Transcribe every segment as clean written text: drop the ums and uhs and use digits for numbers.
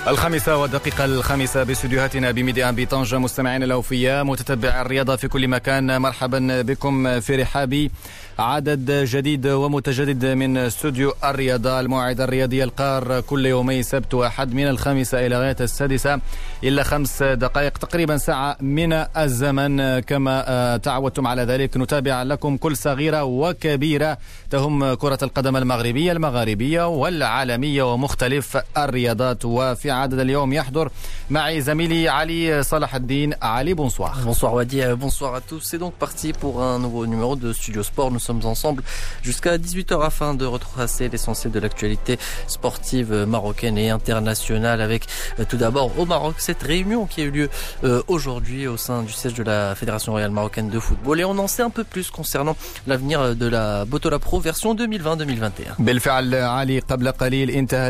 الخامسة باستديوهاتنا بميديان بطنجة. مستمعين الأوفياء متتبع الرياضة في كل مكان، مرحبا بكم في رحاب عدد جديد ومتجدد من استوديو الرياضة، الموعد الرياضي القار كل يومي سبت وأحد من 5 إلى غاية 6 إلا 5 دقائق، تقريبا ساعة من الزمن. كما تعودتم على ذلك نتابع لكم كل صغيرة وكبيرة تهم كرة القدم المغربية والعالمية ومختلف الرياضات. وفي عدد اليوم يحضر معي زميلي علي صلاح الدين. علي، bonsoir. Bonsoir Wadi, bonsoir à tous. C'est donc parti pour un nouveau numéro de Studio Sport. Nous sommes ensemble jusqu'à 18h afin de retracer l'essentiel de l'actualité sportive marocaine et internationale, avec tout d'abord au Maroc cette réunion qui a eu lieu aujourd'hui au sein du siège de la Fédération royale marocaine de football, et on en sait un peu plus concernant l'avenir de la Botola Pro version 2020-2021. بالفعل علي، قبل قليل انتهى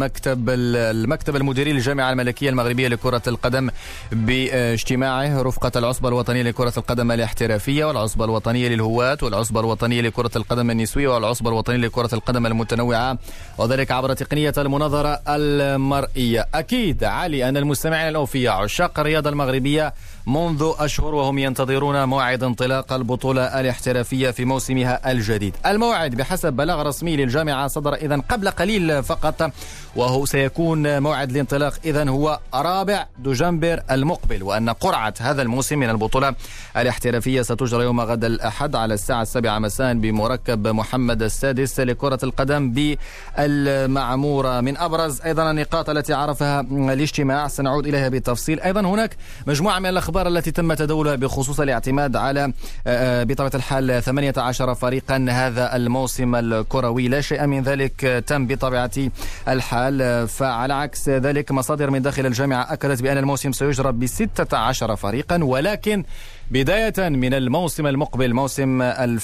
المكتب المديري للجامعة الملكية المغربية لكرة القدم باجتماعه رفقة العصبة الوطنية لكرة القدم الاحترافية والعصبة الوطنية للهواة والعصبة الوطنية لكرة القدم النسوية والعصبة الوطنية لكرة القدم المتنوعة، وذلك عبر تقنية المناظرة المرئية. أكيد علي أن المستمعين الأوفياء عشاق الرياضة المغربية منذ أشهر وهم ينتظرون موعد انطلاق البطولة الاحترافية في موسمها الجديد. الموعد بحسب بلاغ رسمي للجامعة صدر إذن قبل قليل فقط، وهو سيكون موعد الانطلاق إذن هو 4 دجنبر المقبل، وأن قرعة هذا الموسم من البطولة الاحترافية ستجرى يوم غد الأحد على الساعة 7 مساء بمركب محمد السادس لكرة القدم بالمعمورة. من أبرز أيضا النقاط التي عرفها الاجتماع سنعود إليها بالتفصيل. أيضا هناك مجموعة من الأخبار التي تم تداولها بخصوص الاعتماد على بطبيعة الحال 18 فريقا هذا الموسم الكروي. لا شيء من ذلك تم بطبيعة الحال، فعلى عكس ذلك مصادر من داخل الجامعة أكدت بأن الموسم سيجرى ب16 فريقا، ولكن بداية من الموسم المقبل موسم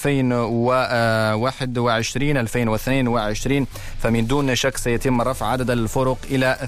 2021-2022 فمن دون شك سيتم رفع عدد الفرق إلى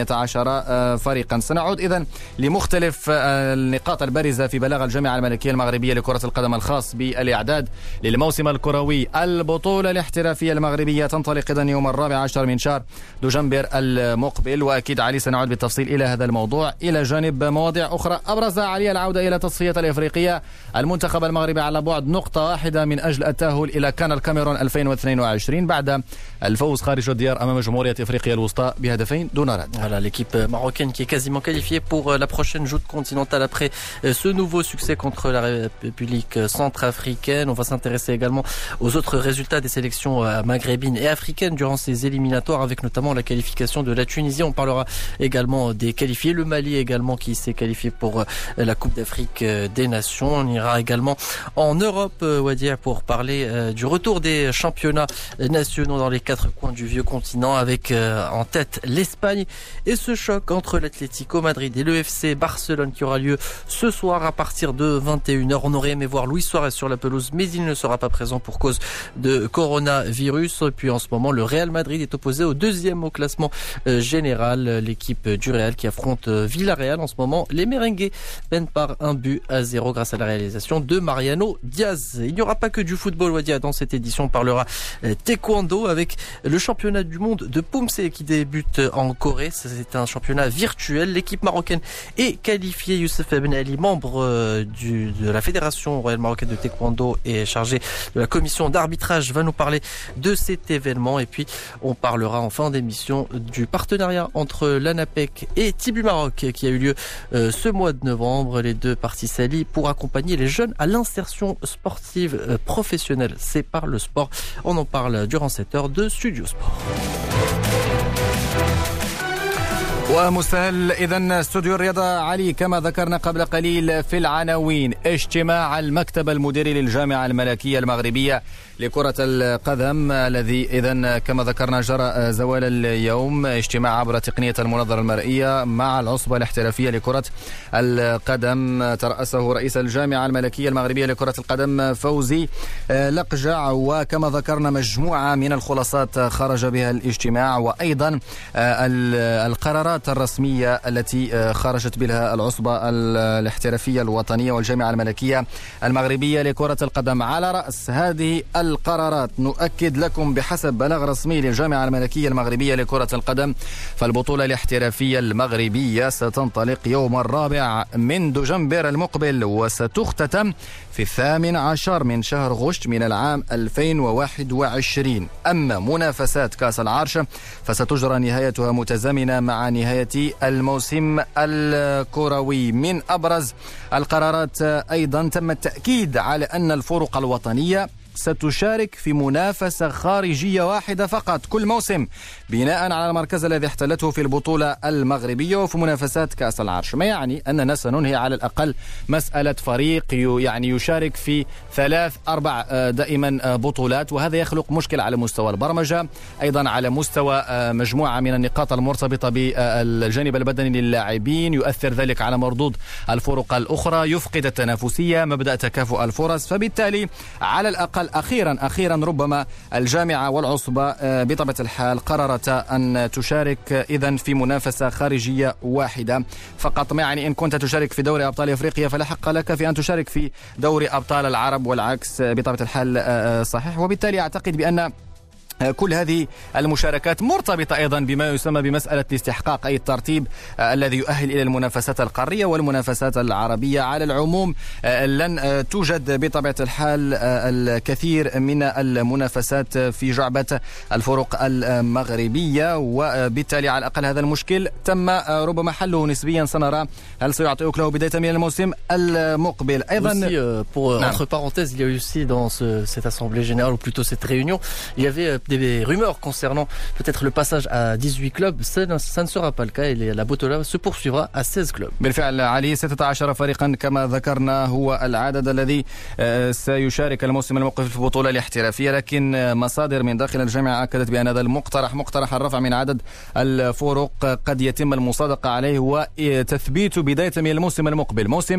18 فريقا. سنعود إذن لمختلف النقاط البارزة في بلاغ الجامعة الملكية المغربية لكرة القدم الخاص بالإعداد للموسم الكروي. البطولة الاحترافية المغربية تنطلق إذن يوم 14 من شهر دجنبر المقبل، وأكيد علي سنعود بالتفصيل إلى هذا الموضوع إلى جانب مواضيع أخرى أبرز علي العودة إلى تصفية الإفريقية. المنتخب المغربي على بعد نقطة واحدة من أجل التأهل إلى كان الكاميرون 2022 بعد الفوز خارج الديار أمام جمهورية إفريقيا الوسطى بهدفين دون رد. Voilà, l'équipe marocaine qui est quasiment qualifiée pour la prochaine joute continentale après ce nouveau succès contre la République centrafricaine. On va s'intéresser également aux autres résultats des sélections maghrébines et africaines durant ces éliminatoires, avec notamment la qualification de la Tunisie. On parlera également des qualifiés, le Mali également qui s'est qualifié pour la Coupe d'Afrique des Nations. On ira également en Europe, Wadir, pour parler du retour des championnats nationaux dans les 4 coins du vieux continent, avec en tête l'Espagne et ce choc entre l'Atlético Madrid et le FC Barcelone qui aura lieu ce soir à partir de 21h. On aurait aimé voir Luis Suarez sur la pelouse, mais il ne sera pas présent pour cause de coronavirus. Et puis en ce moment, le Real Madrid est opposé au 2e au classement général, l'équipe du Real qui affronte Villarreal. En ce moment, les merengues peinent par 1-0 grâce à la réalisation de Mariano Diaz. Il n'y aura pas que du football, Wadia. Dans cette édition, on parlera taekwondo avec le championnat du monde de Pumse qui débute en Corée. C'est un championnat virtuel. L'équipe marocaine est qualifiée. Youssef Ben Ali, membre de la Fédération royale marocaine de taekwondo et chargé de la commission d'arbitrage, va nous parler de cet événement. Et puis, on parlera en fin d'émission du partenariat entre l'ANAPEC et Tibu Maroc qui a eu lieu ce mois de novembre. Les deux parties s'allient pour accompagner les jeunes à l'insertion sportive professionnelle. C'est par le sport. On en parle durant cette heure de Studio Sport. ومستهل إذن استوديو الرياضة علي كما ذكرنا قبل قليل في العناوين. اجتماع المكتب المديري للجامعة الملكية المغربية لكرة القدم الذي إذن كما ذكرنا جرى زوال اليوم، اجتماع عبر تقنية المناظرة المرئية مع العصبة الاحترافية لكرة القدم ترأسه رئيس الجامعة الملكية المغربية لكرة القدم فوزي لقجع. وكما ذكرنا مجموعة من الخلاصات خرج بها الاجتماع، وأيضا القرارات الرسمية التي خرجت بها العصبة الاحترافية الوطنية والجامعة الملكية المغربية لكرة القدم. على رأس هذه القرارات. نؤكد لكم بحسب بلاغ رسمي للجامعة الملكية المغربية لكرة القدم، فالبطولة الاحترافية المغربية ستنطلق يوم 4 من دجنبر المقبل، وستختتم في 18 من شهر غشت من العام 2021. أما منافسات كأس العرش فستجرى نهايتها متزامنة مع نهاية الموسم الكروي. من أبرز القرارات أيضا تم التأكيد على أن الفرق الوطنية ستشارك في منافسة خارجية واحدة فقط كل موسم، بناء على المركز الذي احتلته في البطولة المغربية وفي منافسات كأس العرش، ما يعني أننا سننهي على الأقل مسألة فريق يعني يشارك في 3-4 دائما بطولات، وهذا يخلق مشكلة على مستوى البرمجة، أيضا على مستوى مجموعة من النقاط المرتبطة بالجانب البدني للاعبين، يؤثر ذلك على مردود الفرق الأخرى، يفقد التنافسية، مبدأ تكافؤ الفرص. فبالتالي على الأقل أخيرا ربما الجامعة والعصبة بطبيعة الحال قررتا أن تشارك إذن في منافسة خارجية واحدة فقط، ما يعني إن كنت تشارك في دوري أبطال أفريقيا فلا حق لك في أن تشارك في دوري أبطال العرب والعكس بطبيعة الحال صحيح. وبالتالي أعتقد بأن كل هذه المشاركات مرتبطة أيضا بما يسمى بمسألة الاستحقاق، أي الترتيب الذي يؤهل إلى المنافسات القارية والمنافسات العربية. على العموم لن توجد بطبيعة الحال الكثير من المنافسات في جعبة الفرق المغربية، وبالتالي على الأقل هذا المشكل تم ربما حله نسبيا. سنرى هل سيعطي أكله بداية من الموسم المقبل. أيضا entre parenthèses, il y a eu aussi dans cette assemblée générale, ou plutôt cette réunion, il y avait des rumeurs concernant peut-être le passage à 18 clubs. Ça ne sera pas le cas et la bottola se poursuivra à 16 clubs. بالفعل علي 16 فريقا كما ذكرنا هو العدد الذي سيشارك الموسم المقبل في البطولة الاحترافية، لكن مصادر من داخل الجامعة أكدت بأن هذا مقترح الرفع من عدد الفرق قد يتم المصادقة عليه وتثبيت بداية من الموسم المقبل موسم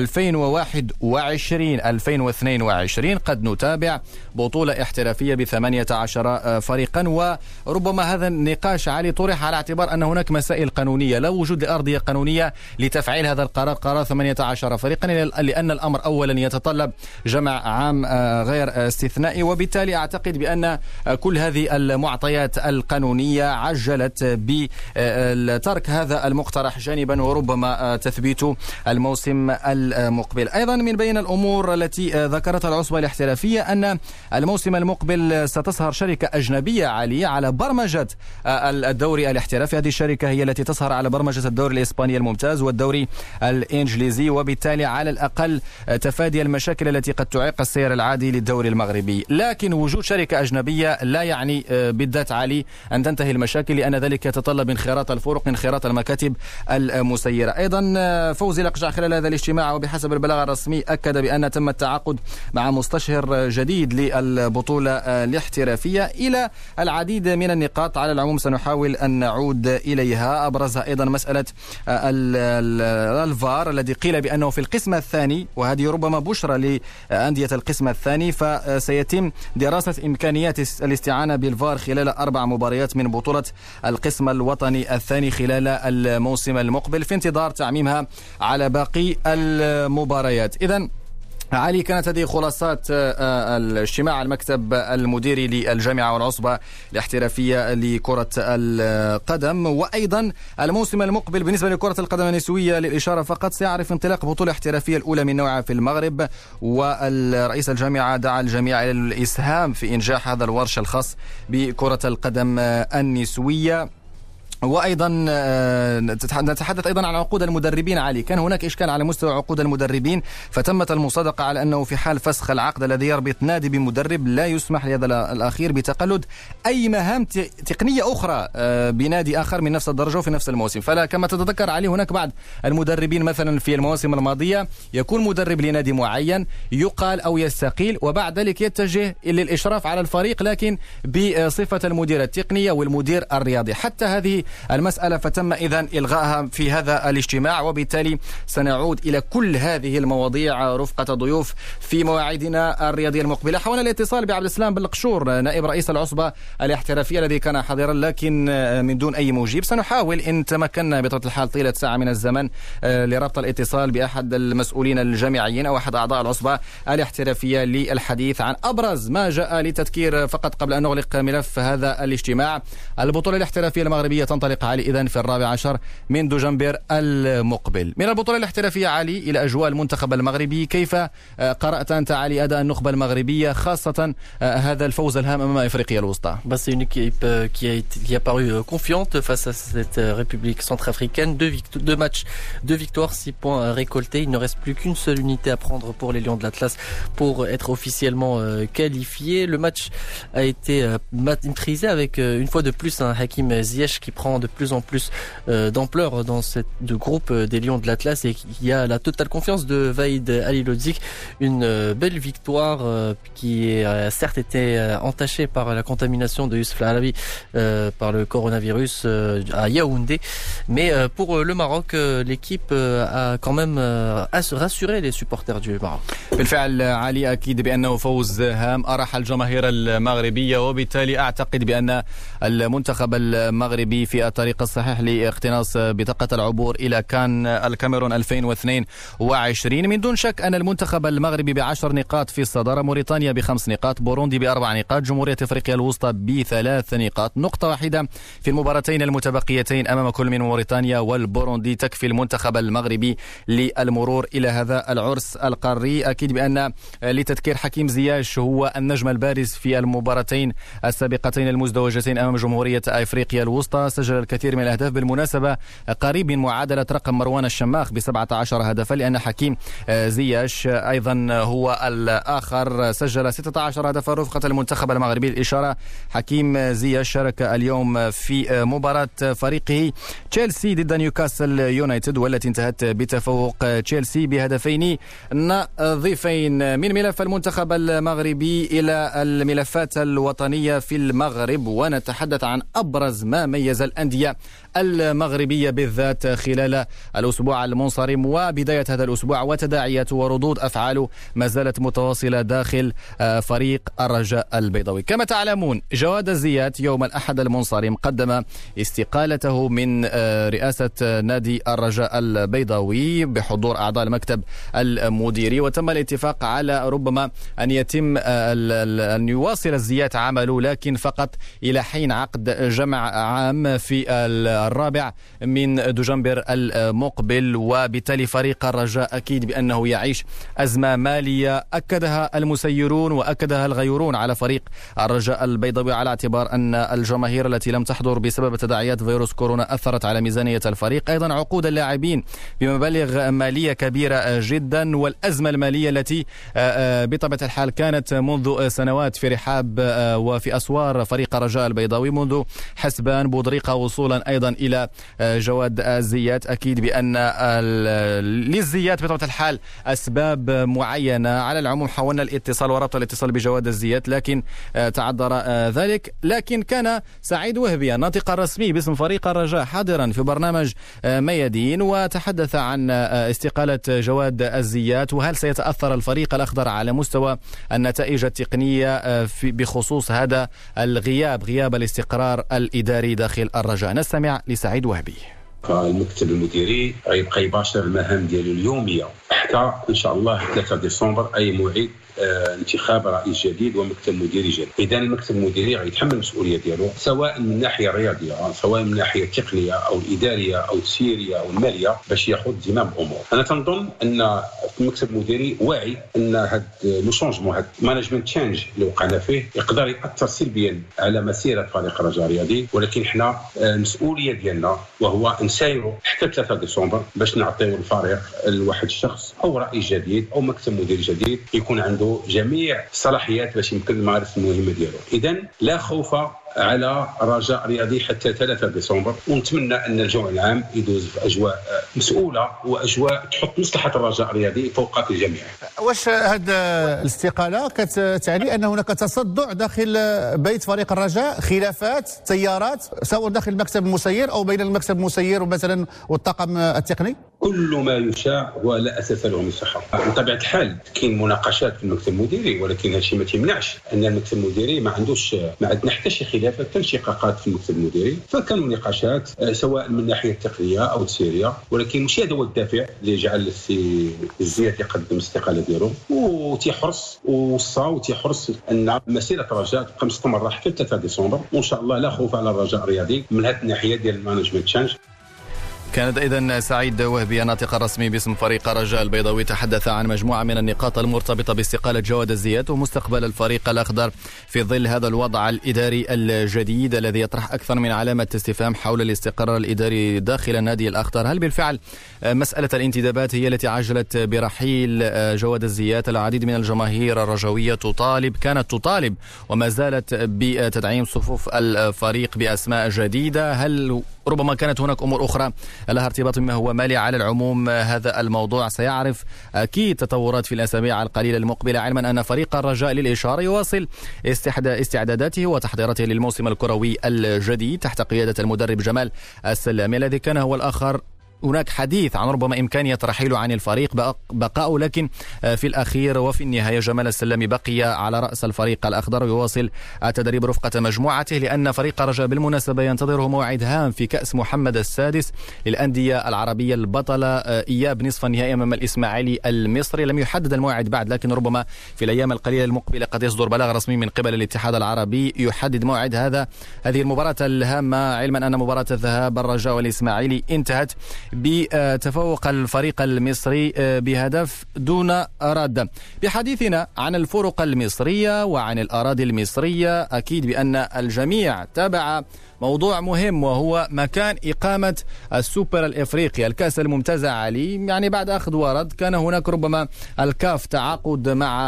2021-2022. قد نتابع بطولة احترافية ب18 فريقا، وربما هذا النقاش علي طرح على اعتبار أن هناك مسائل قانونية، لا وجود لأرضية قانونية لتفعيل هذا قرار 18 فريقا، لأن الأمر أولا يتطلب جمع عام غير استثنائي، وبالتالي أعتقد بأن كل هذه المعطيات القانونية عجلت بترك هذا المقترح جانبا وربما تثبيت الموسم المقبل. أيضا من بين الأمور التي ذكرتها العصبة الاحترافية أن الموسم المقبل ستسهر شركة أجنبية عالية على برمجة الدوري الاحترافي. هذه الشركة هي التي تسهر على برمجة الدوري الإسباني الممتاز والدوري الإنجليزي، وبالتالي على الأقل تفادي المشاكل التي قد تعيق السير العادي للدوري المغربي. لكن وجود شركة أجنبية لا يعني بالذات علي أن تنتهي المشاكل، لأن ذلك يتطلب انخراط الفرق، انخراط المكاتب المسيرة. أيضا فوزي لقجع خلال هذا الاجتماع وبحسب البلاغ الرسمي أكد بأن تم التعاقد مع مستشهر جديد للبطولة الاحترافية إلى العديد من النقاط. على العموم سنحاول أن نعود إليها، أبرزها أيضا مسألة الفار الذي قيل بأنه في القسم الثاني، وهذه ربما بشرى لأندية القسم الثاني، فسيتم دراسة إمكانيات الاستعانة بالفار خلال 4 مباريات من بطولة القسم الوطني الثاني خلال الموسم المقبل في انتظار تعميمها على باقي المباريات. إذن علي كانت هذه خلاصات الاجتماع المكتب المديري للجامعة والعصبة الاحترافية لكرة القدم. وأيضا الموسم المقبل بالنسبة لكرة القدم النسوية للإشارة فقط سيعرف انطلاق بطولة احترافية الأولى من نوعها في المغرب، والرئيس الجامعة دعا الجميع إلى الإسهام في إنجاح هذا الورش الخاص بكرة القدم النسوية. وأيضا نتحدث أيضا عن عقود المدربين. علي كان هناك إشكال على مستوى عقود المدربين، فتمت المصادقة على أنه في حال فسخ العقد الذي يربط نادي بمدرب لا يسمح لهذا الأخير بتقلد أي مهام تقنية أخرى بنادي آخر من نفس الدرجة وفي نفس الموسم. فلا كما تتذكر علي هناك بعض المدربين مثلا في المواسم الماضية يكون مدرب لنادي معين يقال أو يستقيل وبعد ذلك يتجه للإشراف على الفريق لكن بصفة المدير التقنية والمدير الرياضي. حتى هذه المسألة، فتم إذن إلغائها في هذا الاجتماع، وبالتالي سنعود إلى كل هذه المواضيع رفقة ضيوف في مواعيدنا الرياضية المقبلة. حاولنا الاتصال بعبد السلام بالقشور نائب رئيس العصبة الاحترافية الذي كان حاضرا لكن من دون أي مجيب. سنحاول إن تمكنا بطبيعة الحال طيلة ساعة من الزمن لربط الاتصال بأحد المسؤولين الجامعيين أو أحد أعضاء العصبة الاحترافية للحديث عن أبرز ما جاء لتذكير. فقط قبل أن نغلق ملف هذا الاجتماع، البطولة الاحترافية المغربية تنطلق علي إذن في 14 من دجنبر المقبل. من البطولة الاحترافية علي إلى أجواء المنتخب المغربي، كيف قرأت أنت علي أداء النخبة المغربية خاصة هذا الفوز الهام أمام إفريقيا الوسطى؟ C'est une équipe qui a paru confiante face à cette République centrafricaine. Deux matchs, 2 victoires, 6 points récoltés. Il ne reste plus qu'une seule unité à prendre pour les Lions de l'Atlas pour être officiellement qualifiés. Le match a été maîtrisé avec une fois de plus un Hakim Ziyech qui prend de plus en plus d'ampleur dans cette groupe des Lions de l'Atlas et qui a la totale confiance de Vaïd Halilhodžić. Une belle victoire qui a certes été entachée par la contamination de Youssef Al-Arabi par le coronavirus à Yaoundé, mais pour le Maroc, l'équipe a quand même rassuré les supporters du Maroc. بالفعل علي، أكيد بأنه فوز هام أرح الجماهير المغربية، وبالتالي أعتقد بأن المنتخب المغربي في الطريق الصحيح لاقتناص بطاقة العبور إلى كان الكاميرون 2022. من دون شك أن المنتخب المغربي ب10 نقاط في الصدارة، موريتانيا ب5 نقاط، بوروندي ب4 نقاط، جمهورية أفريقيا الوسطى ب3 نقاط. نقطة واحدة في المباراتين المتبقيتين أمام كل من موريتانيا والبوروندي تكفي المنتخب المغربي للمرور إلى هذا العرس القاري. أكيد بأن لتذكير حكيم زياش هو النجم البارز في المباراتين السابقتين المزدوجتين أمام جمهورية أفريقيا الوسطى، سجل الكثير من الأهداف، بالمناسبة قريب من معادلة رقم مروان الشماخ ب17 هدفا، لأن حكيم زياش أيضا هو الآخر سجل 16 هدفا رفقة المنتخب المغربي. الإشارة حكيم زياش شارك اليوم في مباراة فريقه تشيلسي ضد نيوكاسل يونايتد، والتي انتهت بتفوق تشيلسي بهدفين نظيفين. من ملف المنتخب المغربي إلى الملفات الوطنية في المغرب، ونتحدث عن أبرز ما ميز الأندية المغربية بالذات خلال الأسبوع المنصرم وبداية هذا الأسبوع، وتداعيات وردود أفعاله ما زالت متواصلة داخل فريق الرجاء البيضاوي. كما تعلمون، جواد الزيات يوم الأحد المنصرم قدم استقالته من رئاسة نادي الرجاء البيضاوي بحضور أعضاء المكتب المديري، وتم الاتفاق على ربما أن يواصل الزيات عمله، لكن فقط إلى حين عقد جمع عام في 4 من دجنبر المقبل. وبالتالي فريق الرجاء أكيد بأنه يعيش أزمة مالية أكدها المسيرون وأكدها الغيورون على فريق الرجاء البيضاوي، على اعتبار أن الجماهير التي لم تحضر بسبب تداعيات فيروس كورونا أثرت على ميزانية الفريق، أيضا عقود اللاعبين بمبالغ مالية كبيرة جدا، والأزمة المالية التي بطبيعة الحال كانت منذ سنوات في رحاب وفي أسوار فريق الرجاء البيضاوي، منذ حسبان بودريقة وصولا أيضا إلى جواد الزيات. أكيد بأن للزيات بطبيعة الحال أسباب معينة. على العموم حاولنا الاتصال وربط الاتصال بجواد الزيات لكن تعذر ذلك، لكن كان سعيد وهبي الناطق الرسمي باسم فريق الرجاء حاضرا في برنامج ميادين، وتحدث عن استقالة جواد الزيات، وهل سيتأثر الفريق الأخضر على مستوى النتائج التقنية بخصوص هذا غياب الاستقرار الإداري داخل الرجاء. نستمع لسعيد وهبي. المكتب المديري غيبقى يباشر المهام ديالو اليوميه حتى ان شاء الله 3 ديسمبر اي موعد انتخاب رئيس جديد ومكتب مديري جديد. اذا المكتب المديري غيتحمل المسؤوليه ديالو سواء من الناحيه الرياضيه سواء من الناحيه التقنيه او الاداريه او التسييريه او الماليه باش ياخذ زمام الامور. انا تنظن ان المكتب المديري واعي ان هذا لو شونجمون هذا مانجمنت تشينج اللي وقعنا فيه يقدر ياثر سلبيا على مسيره فريق الرجاء الرياضي، ولكن حنا المسؤوليه ديالنا وهو نسايروا حتى 3 ديسمبر باش نعطيو الفريق لواحد الشخص او رئيس جديد او مكتب مديري جديد يكون عنده جميع الصلاحيات باش يمكن يمارس المهمه ديالو. اذا لا خوف على رجاء رياضي حتى 3 ديسمبر، ونتمنى ان الجمع العام يدوز في اجواء مسؤوله واجواء تحط مصلحه الرجاء الرياضي فوق الجميع. واش هذه الاستقاله كتعني ان هناك تصدع داخل بيت فريق الرجاء، خلافات، تيارات، سواء داخل المكتب المسير او بين المكتب المسير ومثلا والطاقم التقني؟ كل ما يشاع ولا اساس له من صحه. بطبيعه الحال كاين مناقشات في المكتب المديري، ولكن هذا الشيء ما تيمنعش ان المكتب المديري ما عندنا حتى شي خلافات حتى انشقاقات في المكتب المديري، فكانوا نقاشات سواء من الناحيه التقنيه او السيريه، ولكن ماشي هذا هو الدافع اللي جعل السي الزيات يقدم الاستقاله ديالو، وتيحرص وتيحرص ان مسيره الرجاء تبقى مستمره حتى 3 ديسمبر، وان شاء الله لا خوف على الرجاء الرياضي من هذه الناحيه ديال المانجمنت تشانج. كانت إذن سعيد وهبي الناطق الرسمي باسم فريق الرجاء البيضاوي تحدث عن مجموعة من النقاط المرتبطة باستقالة جواد الزيات ومستقبل الفريق الأخضر في ظل هذا الوضع الإداري الجديد الذي يطرح أكثر من علامة استفهام حول الاستقرار الإداري داخل النادي الأخضر. هل بالفعل مسألة الانتدابات هي التي عجلت برحيل جواد الزيات؟ العديد من الجماهير الرجوية كانت تطالب وما زالت بتدعيم صفوف الفريق بأسماء جديدة. هل ربما كانت هناك أمور أخرى لها ارتباط بما هو مالي؟ على العموم هذا الموضوع سيعرف أكيد تطورات في الأسابيع القليلة المقبلة، علما أن فريق الرجاء للإشارة يواصل استعداداته وتحضيراته للموسم الكروي الجديد تحت قيادة المدرب جمال السلامي الذي كان هو الآخر. هناك حديث عن ربما إمكانية رحيله عن الفريق بقاؤه، لكن في الأخير وفي النهاية جمال السلامي بقي على رأس الفريق الأخضر ويواصل التدريب رفقة مجموعته، لأن فريق الرجاء بالمناسبة ينتظره موعد هام في كأس محمد السادس للأندية العربية البطلة إياب نصف النهائي أمام الإسماعيلي المصري. لم يحدد الموعد بعد، لكن ربما في الأيام القليلة المقبلة قد يصدر بلاغ رسمي من قبل الاتحاد العربي يحدد موعد هذه المباراة الهامة، علما أن مباراة الذهاب الرجاء والإسماعيلي انتهت بتفوق الفريق المصري بهدف دون رد. بحديثنا عن الفرق المصرية وعن الأراضي المصرية، أكيد بأن الجميع تابع موضوع مهم وهو مكان إقامة السوبر الإفريقي الكأس الممتازة علي. يعني بعد أخذ ورد كان هناك ربما الكاف تعاقد مع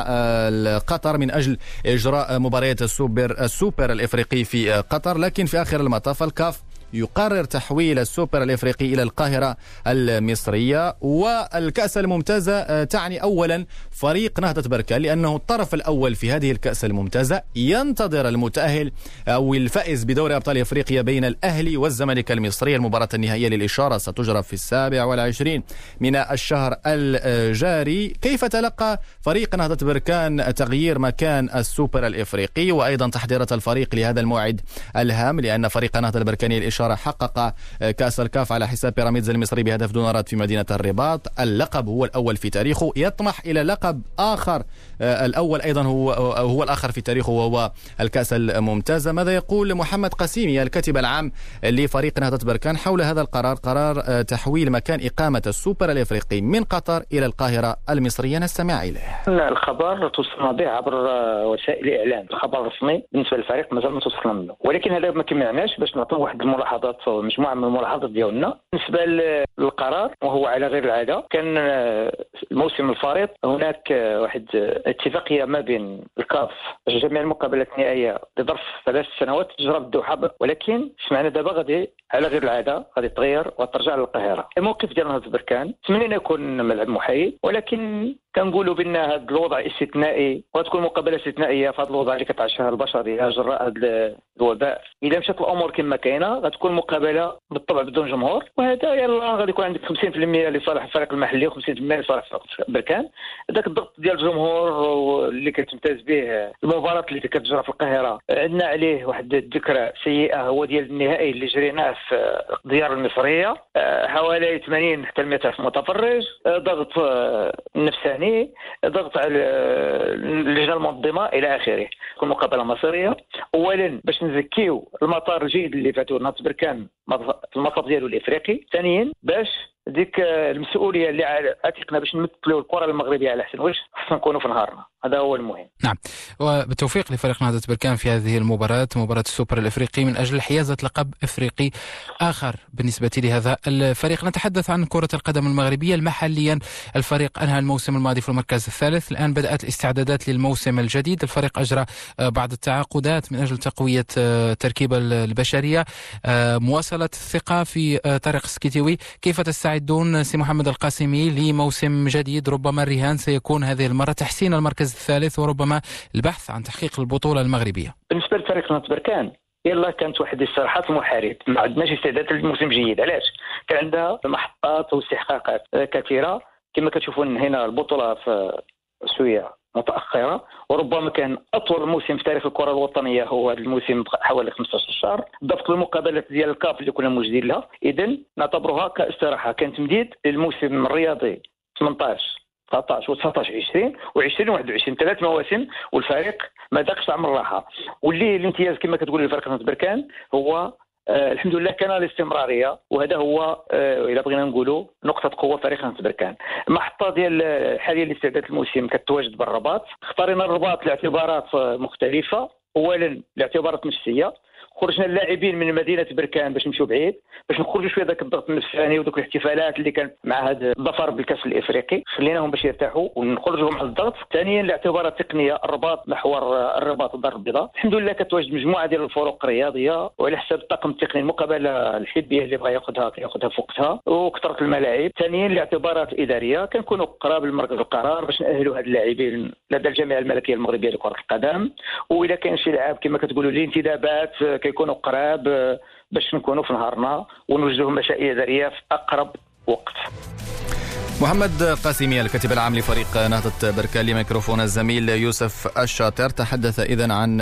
قطر من أجل إجراء مباريات السوبر الإفريقي في قطر، لكن في آخر المطاف الكاف يقرر تحويل السوبر الإفريقي إلى القاهرة المصرية. والكأس الممتازة تعني أولا فريق نهضة بركان، لأنه الطرف الأول في هذه الكأس الممتازة ينتظر المتأهل أو الفائز بدوري أبطال إفريقيا بين الأهلي والزمالك المصري. المباراة النهائية للإشارة ستجرى في 27 من الشهر الجاري. كيف تلقى فريق نهضة بركان تغيير مكان السوبر الإفريقي وأيضا تحضيرات الفريق لهذا الموعد الهام، لأن فريق نهضة البركاني للإشارة حقق كأس الكاف على حساب بيراميدز المصري بهدف دون رد في مدينة الرباط. اللقب هو الأول في تاريخه، يطمح إلى لقب آخر الأول أيضا هو الآخر في تاريخه وهو الكأس الممتازة. ماذا يقول محمد قسيمي الكاتب العام لفريق نهضة بركان حول هذا القرار، قرار تحويل مكان إقامة السوبر الإفريقي من قطر إلى القاهرة المصرية؟ نستمع إليه. الخبر توصلنا به عبر وسائل الإعلام، الخبر الرسمي بالنسبة للفريق مازال ما توصلنا منه، ولكن هذا ما كيمنعناش باش نعطيو واحد الملاحظات أو مجموعة من الملاحظات ديالنا بالنسبة للقرار، وهو على غير العادة. كان الموسم الفارط هناك واحد اتفاقية ما بين الكاف جميع المقابلات النهائية لظرف 3 سنوات تجرى بالدوحة، ولكن سمعنا دابا غادي على غير العادة غادي تغير وترجع للقاهرة. الموقف ديال نهضة بركان تمنينا يكون ملعب محايد، ولكن كنقولوا بان هذا الوضع استثنائي وتكون مقابله استثنائيه في هذا الوضع اللي كتعيشها البشريه جراء هذا الوباء. اذا مشات الامور كما كاينه غتكون مقابله بالطبع بدون جمهور، وهذا يلا غادي يكون عندك 50% لصالح الفريق المحلي و50% لصالح بركان. هذاك الضغط ديال الجمهور اللي كتمتاز به المباراه اللي كتجرى في القاهره عندنا عليه واحد الذكرى سيئه، هو ديال النهائي اللي جريناه في الديار المصريه، حوالي 80 حتى 100 ألف متفرج، ضغط نفساني، ضغط على اللجنه المنظمه الى اخره. تكون مقابله مصيريه اولا باش نزكيو المطار الجيد اللي فاتوا نهضة بركان في المطار ديالو الافريقي، ثانيا باش ديك المسؤوليه اللي عاتقنا باش نمثلوا الكره المغربيه على احسن وجه خصنا نكونوا في نهارنا. هذا هو المهم. نعم، وبالتوفيق لفريق نهضة بركان في هذه المباراة، مباراة السوبر الإفريقي من أجل حيازة لقب إفريقي آخر بالنسبة لهذا الفريق. نتحدث عن كرة القدم المغربية. محليا الفريق أنهى الموسم الماضي في المركز الثالث، الآن بدأت الاستعدادات للموسم الجديد. الفريق أجرى بعض التعاقدات من أجل تقوية التركيبة البشرية، مواصلة الثقة في طارق السكيتيوي. كيف تستعد مستعدون سي محمد القاسمي لموسم جديد؟ ربما الرهان سيكون هذه المرة تحسين المركز الثالث وربما البحث عن تحقيق البطولة المغربية. بالنسبة لفريق نهضة بركان يلا كانت واحد الاستراحات المحارب، ما عندناش استعداد للموسم جيد. علاش؟ كان عندها محطات واستحقاقات كثيرة. كما كتشوفون هنا البطولة في شوية متأخرة، وربما كان أطول موسم في تاريخ الكرة الوطنية هو هذا الموسم حوالي 15 شهر، ضبط المقابلات ديال الكاف اللي كنا موجودين لها. إذن نعتبرها كاستراحة، كان تمديد للموسم الرياضي 18 19 و19 20 و20 و21 3 مواسم، والفريق ما ذاقش طعم الراحة. واللي الامتياز كما كتقول الفريق نهضة بركان هو الحمد لله كان الاستمراريه، وهذا هو الا بغينا نقولوا نقطه قوه فريق نهضة بركان. المحطه ديال حاليا لاستعداد الموسم كتواجد بالرباط. اختارينا الرباط لاعتبارات مختلفه. اولا لاعتبارات نفسيه، خرجنا اللاعبين من مدينه بركان باش نمشيو بعيد، باش نخرجوا شويه ذاك الضغط النفساني وذوك الاحتفالات اللي كانت مع هذا الظفر بالكاس الافريقي، خليناهم باش يرتاحوا ونخرجوا مع الضغط. ثانيا لاعتبارات تقنيه، الرباط محور الرباط الدار البيضاء الحمد لله كتواجد مجموعه ديال الفروق الرياضيه، وعلى حساب الطاقم التقني المقابله الحبيه اللي بغى ياخذها في وقتها، وكثره الملاعب. ثانيا لاعتبارات اداريه، كنكونوا قراب لمركز القرار باش ناهلوا هاد اللاعبين لدى الجامعه الملكيه المغربيه لكره القدم. واذا كان شي لاعب كما كتقولوا الانتدابات كيكونوا قراب باش نكونوا في نهارنا ونوجدوا مشاريع إدارية في أقرب وقت. محمد قاسمي الكاتب العام لفريق نهضة بركان لميكروفون الزميل يوسف الشاطر تحدث إذن عن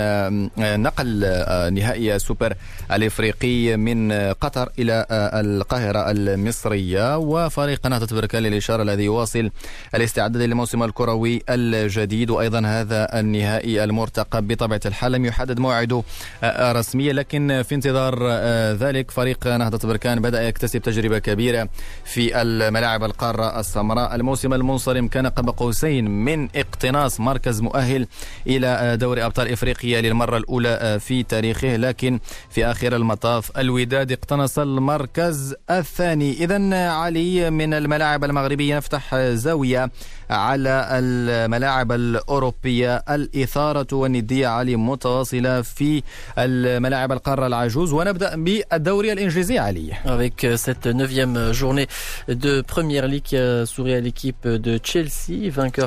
نقل نهائي السوبر الإفريقي من قطر إلى القاهرة المصرية، وفريق نهضة بركان للإشارة الذي يواصل الاستعداد للموسم الكروي الجديد. وأيضا هذا النهائي المرتقب بطبيعة الحال لم يحدد موعده رسميا، لكن في انتظار ذلك فريق نهضة بركان بدأ يكتسب تجربة كبيرة في الملاعب القارة السمراء. الموسم المنصرم كان قاب قوسين من اقتناص مركز مؤهل إلى دوري أبطال إفريقيا للمرة الأولى في تاريخه، لكن في آخر المطاف الوداد اقتنص المركز الثاني. إذن علي، من الملاعب المغربية نفتح زاوية على الملاعب الأوروبية. الإثارة والندية علي متواصلة في الملاعب القارة العجوز، ونبدأ بالدوري الإنجليزي علي. Avec cette 9e journée de Première Ligue qui a souri à l'équipe de Chelsea, vainqueur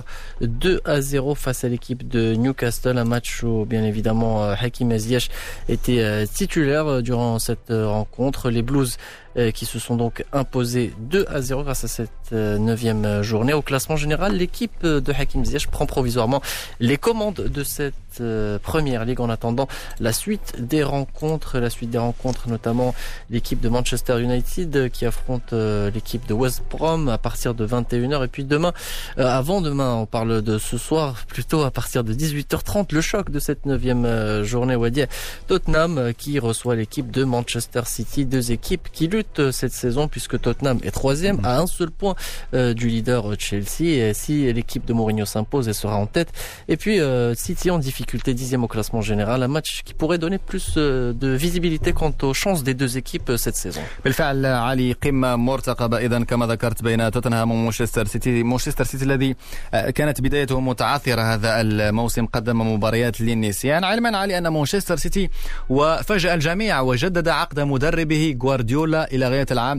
2-0 face à l'équipe de Newcastle, un match où bien évidemment Hakim Ziyech était titulaire durant cette rencontre. Les Blues qui se sont donc imposés 2-0 grâce à cette 9e journée. Au classement général, l'équipe de Hakim Ziyech prend provisoirement les commandes de cette Première Ligue en attendant la suite des rencontres. La suite des rencontres, notamment l'équipe de Manchester United qui affronte l'équipe de West Brom à partir de 21h. Et puis demain, avant-demain, on parle de ce soir, plutôt à partir de 18h30, le choc de cette 9e journée, Wadi, Tottenham qui reçoit l'équipe de Manchester City. Deux équipes qui luttent cette saison puisque Tottenham est 3e à un seul point du leader Chelsea. Et si l'équipe de Mourinho s'impose, elle sera en tête. Et puis City en difficulté, 10e au classement général. Un match qui pourrait donner plus de visibilité quant aux chances des deux équipes cette saison. بالفعل علي، قمة مرتقبة إذن كما ذكرت بين توتنهام ومانشستر سيتي. مانشستر سيتي الذي كانت بدايته متعثرة هذا الموسم، قدم مباريات للنسيان، علما علي أن مانشستر سيتي وفاجأ الجميع وجدد عقد مدربه غوارديولا إلى غاية العام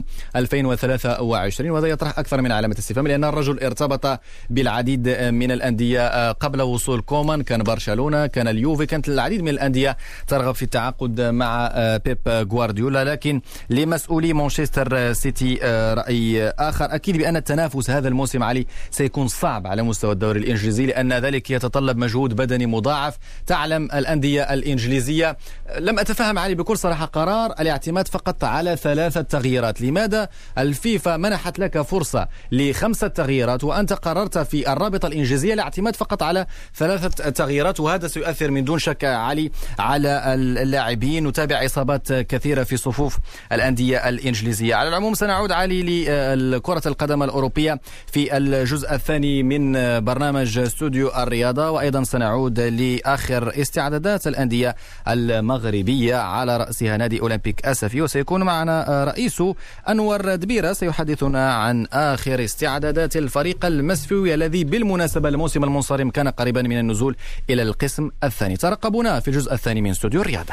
2023، وهذا يطرح أكثر من علامة استفهام، لأن الرجل ارتبط بالعديد من الأندية قبل وصول كومان. كان برشلونة، كان اليوفي، كانت العديد من الأندية ترغب في التعاقد مع بيب غوارديولا. لكن لمسؤولي مانشستر سيتي رأي آخر، أكيد بأن التنافس هذا الموسم علي سيكون صعب على مستوى الدوري الإنجليزي، لأن ذلك يتطلب مجهود بدني مضاعف. تعلم الأندية الإنجليزية، لم أتفهم علي بكل صراحة قرار الاعتماد فقط على 3 تغييرات. لماذا الفيفا منحت لك فرصة ل5 تغييرات وأنت قررت في الرابطة الإنجليزية الاعتماد فقط على 3 تغييرات؟ وهذا سيؤثر من دون شك علي على اللاعبين. نتابع إصابات كثيرة في صفوف الأندية الإنجليزية. على العموم سنعود علي لكرة القدم الأوروبية في الجزء الثاني من برنامج استوديو الرياضة، وأيضا سنعود لآخر استعدادات الأندية المغربية على رأسها نادي أولمبيك أسفي، وسيكون معنا رئيسه أنور دبيرة سيحدثنا عن آخر استعدادات الفريق المسفوي الذي بالمناسبة الموسم المنصرم كان قريبا من النزول إلى القسم الثاني. ترقبونا في الجزء الثاني من استوديو الرياضة.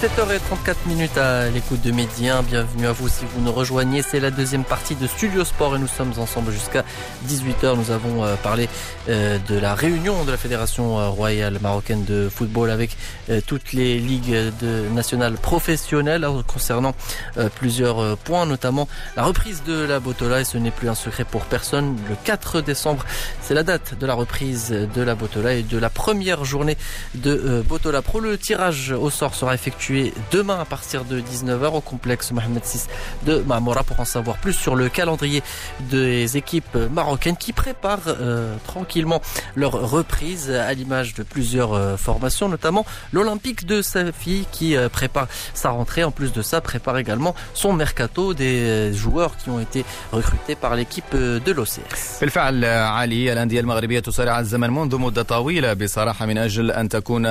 17h34 à l'écoute de Midi 1. Bienvenue à vous si vous nous rejoignez. C'est la deuxième partie de Studio Sport et nous sommes ensemble jusqu'à 18h. Nous avons parlé de la réunion de la Fédération royale marocaine de football avec toutes les ligues nationales professionnelles concernant plusieurs points, notamment la reprise de la Botola. Et ce n'est plus un secret pour personne. Le 4 décembre, c'est la date de la reprise de la Botola et de la première journée de Botola Pro. Le tirage au sort sera effectué demain à partir de 19h au complexe Mohamed VI de Marmora. Pour en savoir plus sur le calendrier des équipes marocaines qui préparent tranquillement leur reprise à l'image de plusieurs formations, notamment l'Olympique de Safi qui prépare sa rentrée. En plus de ça, prépare également son mercato des joueurs qui ont été recrutés par l'équipe de l'OCS. بالفعل علي، الأندية المغربية تسارع الزمن منذ مدة طويلة بصراحة من أجل أن تكون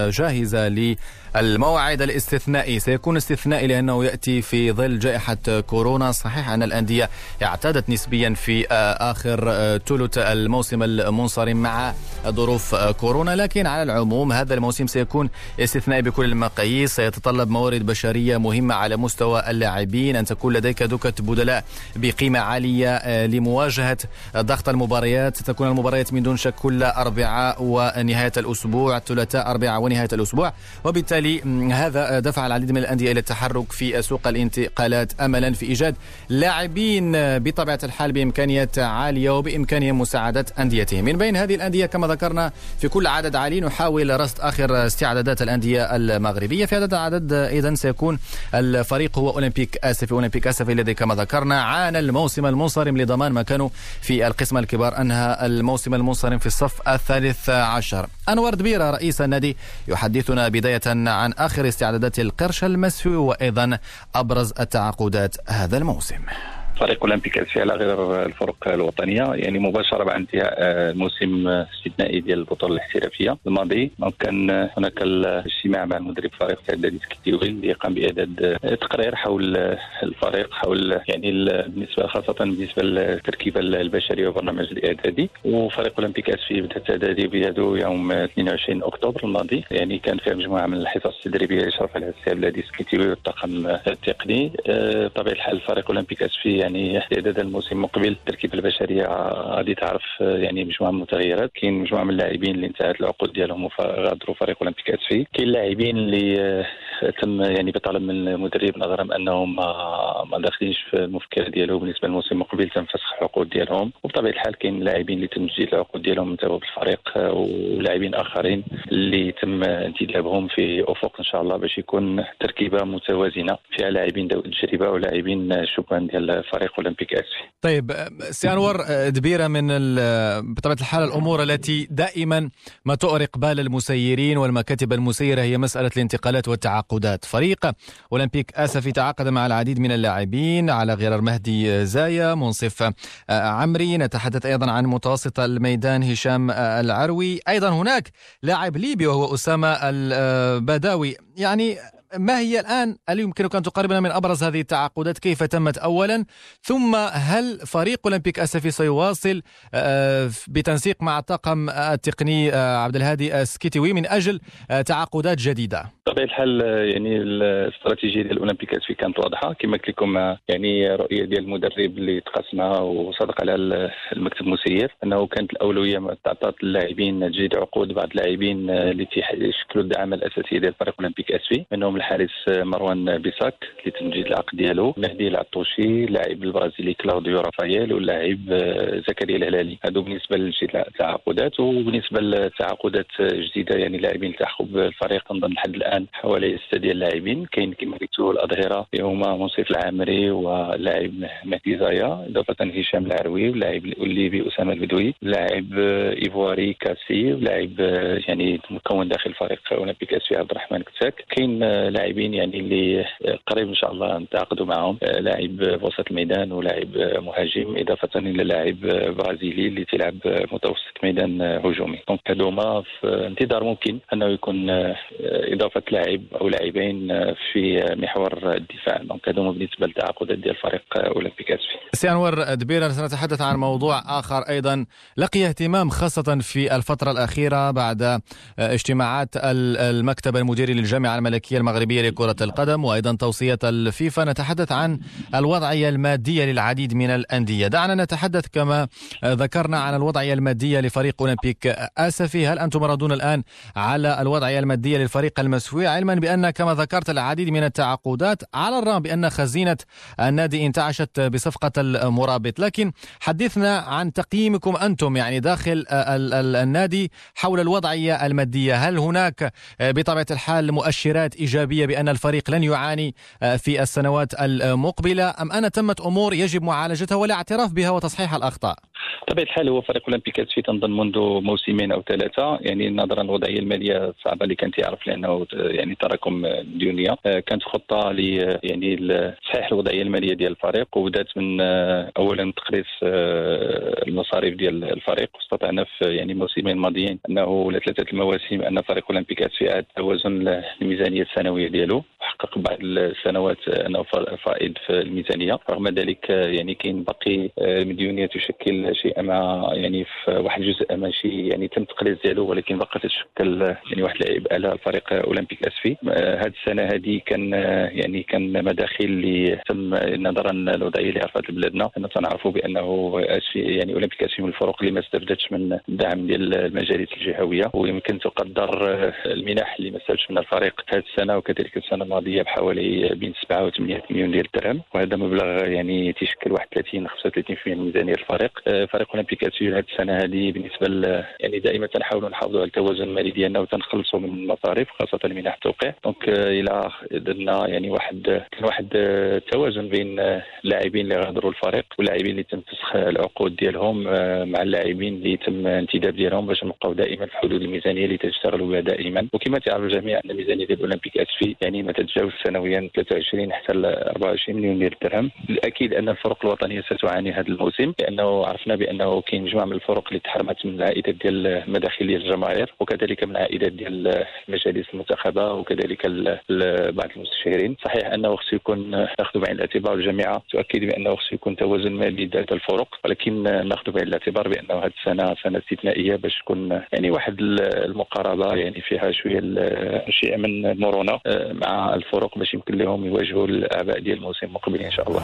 جاهزة للموعد الاستثنائي. سيكون استثنائي لأنه يأتي في ظل جائحة كورونا. صحيح أن الأندية اعتادت نسبيا في آخر ثلث الموسم المنصرم مع ظروف كورونا، لكن على العموم هذا الموسم سيكون استثنائي بكل المقاييس. سيتطلب موارد بشرية مهمة على مستوى اللاعبين، أن تكون لديك دكة بدلاء بقيمة عالية لمواجهة ضغط المباريات. ستكون المباريات من دون شك كل أربعاء ونهاية الأسبوع، ثلاثاء أربعاء ونهاية الأسبوع، وبالتالي هذا دفع العديد من الأندية إلى التحرك في سوق الانتقالات أملا في إيجاد لاعبين بطبيعة الحال بإمكانيات عالية وبإمكانهم مساعدة أنديتهم. من بين هذه الأندية كما ذكرنا في كل عدد عالي نحاول رصد آخر استعدادات الأندية المغربية. في هذا العدد أيضا سيكون الفريق هو أولمبيك آسفي. أولمبيك آسفي الذي كما ذكرنا عانى الموسم المنصرم لضمان مكانه في القسم الكبار، أنهى الموسم المنصرم في الصف الثالث عشر. أنور دبيرة رئيس النادي يحدثنا بداية عن آخر استعدادات القرش المسفي وأيضا أبرز التعاقدات هذا الموسم. فريق أولمبيك آسفي على غير الفرق الوطنية، يعني مباشرة بعد انتهاء الموسم الاستثنائي ديال البطولة الاحترافية الماضي. كان هناك الاجتماع مع المدرب الفريق الإعدادي سكيتيوي اللي قام بإعداد تقرير حول الفريق، حول يعني بالنسبة خاصة بالنسبة للتركيبة البشرية وبرنامج الإعدادي. وفريق أولمبيك آسفي بدأ التدريب بيده يوم 22 أكتوبر الماضي، يعني كان فيها مجموعة من الحصص التدريبية يشرف عليها السي عبد العزيز سكيتيوي والطاقم التقني. بطبيعة الحال فريق أولمبيك آسفي يعني استعداد الموسم المقبل التركيبه البشريه غادي تعرف يعني مجموعه من المتغيرات. كاين مجموعه من اللاعبين اللي انتهت العقود ديالهم وغادروا فريق اولمبيك آسفي. كاين لاعبين اللي تم يعني بطلب من المدرب نظرا انهم ما داخلينش في المفكر ديالو بالنسبه للموسم المقبل تم فسخ العقود ديالهم. وبطبيعه الحال كاين لاعبين اللي تم تجديد العقود ديالهم من تبع الفريق، ولاعبين اخرين اللي تم انتدابهم في افق ان شاء الله باش يكون تركيبه متوازنه فيها لاعبين ذوي التجربه ولاعبين شبان ديال فريق أولمبيك آسفي. طيب سي أنور دبيرة، من بطبيعة الحال الأمور التي دائما ما تؤرق بال المسيرين والمكاتب المسيرة هي مسألة الانتقالات والتعاقدات. فريق أولمبيك آسفي تعاقد مع العديد من اللاعبين على غرار مهدي زايا، منصف عمري، نتحدث أيضا عن متوسط الميدان هشام العروي، أيضا هناك لاعب ليبي وهو أسامة البداوي. يعني ما هي الآن، هل يمكنك أن تقربنا من أبرز هذه التعاقدات؟ كيف تمت أولا؟ ثم هل فريق أولمبيك آسفي سيواصل بتنسيق مع الطاقم التقني عبد الهادي السكيتيوي من أجل تعاقدات جديدة؟ بطبيعة الحال يعني الاستراتيجية ديال أولمبيك آسفي كانت واضحة كما قلت لكم، يعني رؤية ديال المدرب اللي تقاسمها وصدق على المكتب المسير أنه كانت الأولوية تعطات اللاعبين تجديد عقود بعض اللاعبين اللي يشكلوا الدعامة الأساسية ديال فريق أولمبيك آسفي، منهم الحارس مروان بيساك اللي تم تجديد العقد ديالو، مهدي العطوشي، اللاعب البرازيلي كلاوديو رافائيل، واللاعب زكريا الهلالي. هادو بالنسبة لتجديد التعاقدات. وبالنسبة للتعاقدات جديدة يعني لاعبين التحقوا بالفريق نظن لحد الآن حوالي 6 ديال اللاعبين. كاين كما قلتوا الأظهرة اللي هما منصف العامري واللاعب مهدي زايا، إضافة هشام العروي واللاعب الليبي أسامة البدوي، اللاعب إيفواري كاسي، ولاعب يعني مكون داخل فريق أولمبيك آسفي عبد الرحمن كتاك. كاين لاعبين يعني اللي قريب ان شاء الله نتعاقدوا معهم، لاعب وسط الميدان ولاعب مهاجم، اضافه الى لاعب برازيلي اللي تلعب متوسط ميدان هجومي. دونك هذوما في انتظار ممكن انه يكون اضافه لاعب او لاعبين في محور الدفاع. دونك هذوما بالنسبه للتعاقدات ديال فريق اولمبيك آسفي. سي أنور دبيرة، سنتحدث عن موضوع اخر ايضا لقي اهتمام خاصه في الفتره الاخيره بعد اجتماعات المكتب المديري للجامعه الملكيه المغربيه المغربية لكرة القدم وأيضا توصية الفيفا. نتحدث عن الوضعية المادية للعديد من الأندية. دعنا نتحدث كما ذكرنا عن الوضعية المادية لفريق أولمبيك آسفي. هل أنتم ردون الآن على الوضعية المادية للفريق المسفوي، علما بأن كما ذكرت العديد من التعاقدات على الرغم بأن خزينة النادي انتعشت بصفقة المرابط؟ لكن حدثنا عن تقييمكم أنتم يعني داخل النادي حول الوضعية المادية. هل هناك بطبيعة الحال مؤشرات إيجابية بأن الفريق لن يعاني في السنوات المقبلة، أم أن تمت أمور يجب معالجتها والاعتراف بها وتصحيح الأخطاء؟ بطبيعة الحال هو فريق أولمبيك آسفي تنظن منذ موسمين أو 3 يعني نظرا للوضعية المالية الصعبة اللي كانت يعرف لأنه يعني تراكم ديونية. كانت خطة يعني تصحيح الوضعية المالية ديال الفريق، وبدات من أولا تقريص المصاريف ديال الفريق. واستطعنا في يعني الموسمين الماضيين أنه ولا 3 المواسم أن فريق أولمبيك آسفي عاد توازن الميزانية السنوية ديالو، وحقق بعض السنوات أنه فائض في الميزانية. رغم ذلك يعني كاين باقي مديونية تشكل شيء ما يعني في واحد الجزء ماشي يعني تم التقليص ديالو، ولكن بقى تشكل يعني واحد العبء على الفريق أولمبيك آسفي. هذه السنة هذه كان مداخل اللي تم نظرا للوضعية اللي عرفت بلادنا. أننا تنعرفوا بأنه آسفي يعني أولمبيك آسفي من الفرق اللي ما استفدتش من الدعم ديال المجالس الجهوية، ويمكن تقدر المنح اللي ما استفدش من الفريق هذه السنة وكذلك السنة الماضية بحوالي بين 7 و 8 مليون ديال الدرهم، وهذا مبلغ يعني تشكل واحد 30-35% من ميزانية الفريق. فريق أولمبيك آسفي هذه السنة هذه بالنسبة يعني دائما تنحاولوا نحافظوا على التوازن المالي ديالنا وتنخلصوا من المصاريف خاصة منح التوقيع. دونك إلى درنا يعني كان واحد التوازن بين اللاعبين اللي غادروا الفريق واللاعبين اللي تم فسخ العقود ديالهم مع اللاعبين اللي تم انتداب ديالهم باش نبقاو دائما في حدود الميزانية اللي تشتغلوا بها دائما. وكما تعرف الجميع أن الميزانية ديال أولمبيك آسفي يعني ما تتجاوز سنويا 23 حتى 24 مليون ديال الدرهم. الأكيد أن الفرق الوطنية ستعاني هذا الموسم، لأنه عرفنا بأنه كاين مجموعة من الفرق اللي تحرمت من العائدات ديال المداخيل ديال الجماهير، وكذلك من العائدات ديال المجالس المنتخبة وكذلك بعض المستشارين. صحيح أنه خصو يكون ناخذ بعين الاعتبار، الجامعة تؤكد بأنه خصو يكون توازن مالي لدى الفرق، ولكن ناخذ بعين الاعتبار بأنه هذه السنة سنة استثنائية باش تكون يعني واحد المقاربة يعني فيها شيء من المرونة مع الفرق باش يمكن لهم يواجهوا الأعباء ديال الموسم المقبل إن شاء الله.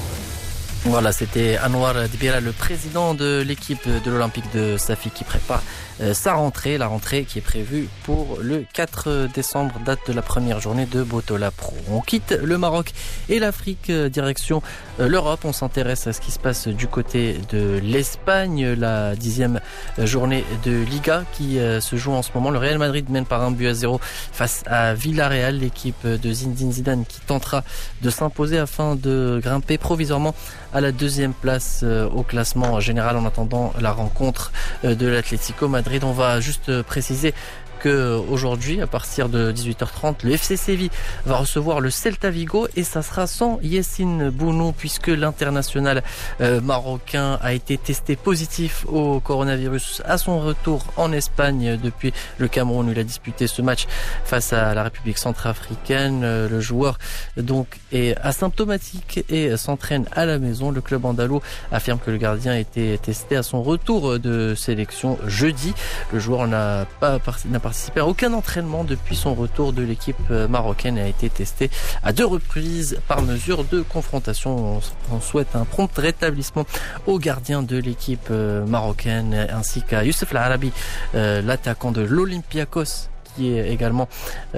Voilà, c'était Anwar Dibira, le président de l'équipe de l'Olympique de Safi qui prépare sa rentrée, la rentrée qui est prévue pour le 4 décembre, date de la première journée de Botola Pro. On quitte le Maroc et l'Afrique, direction l'Europe. On s'intéresse à ce qui se passe du côté de l'Espagne, la 10e journée de Liga qui se joue en ce moment. Le Real Madrid mène par 1-0 face à Villarreal, l'équipe de Zinedine Zidane qui tentera de s'imposer afin de grimper provisoirement à la 2e place au classement général en attendant la rencontre de l'Atlético Madrid. On va juste préciser qu'aujourd'hui, à partir de 18h30, le FC Séville va recevoir le Celta Vigo et ça sera sans Yassine Bounou puisque l'international marocain a été testé positif au coronavirus à son retour en Espagne depuis le Cameroun où il a disputé ce match face à la République centrafricaine. Le joueur donc est asymptomatique et s'entraîne à la maison. Le club andalou affirme que le gardien a été testé à son retour de sélection jeudi. Le joueur n'a participé à aucun entraînement depuis son retour de l'équipe marocaine et a été testé à 2 reprises par mesure de confrontation. On souhaite un prompt rétablissement au gardien de l'équipe marocaine ainsi qu'à Youssef L'Arabi, l'attaquant de l'Olympiakos, qui est également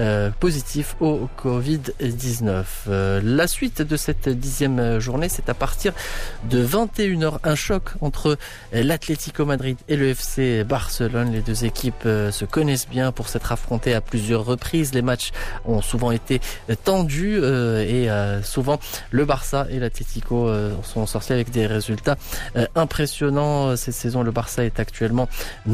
positif au Covid-19. La suite de cette 10e journée, c'est à partir de 21h. Un choc entre l'Atlético Madrid et le FC Barcelone. Les 2 équipes se connaissent bien pour s'être affrontées à plusieurs reprises. Les matchs ont souvent été tendus et souvent le Barça et l'Atlético sont sortis avec des résultats impressionnants. Cette saison, le Barça est actuellement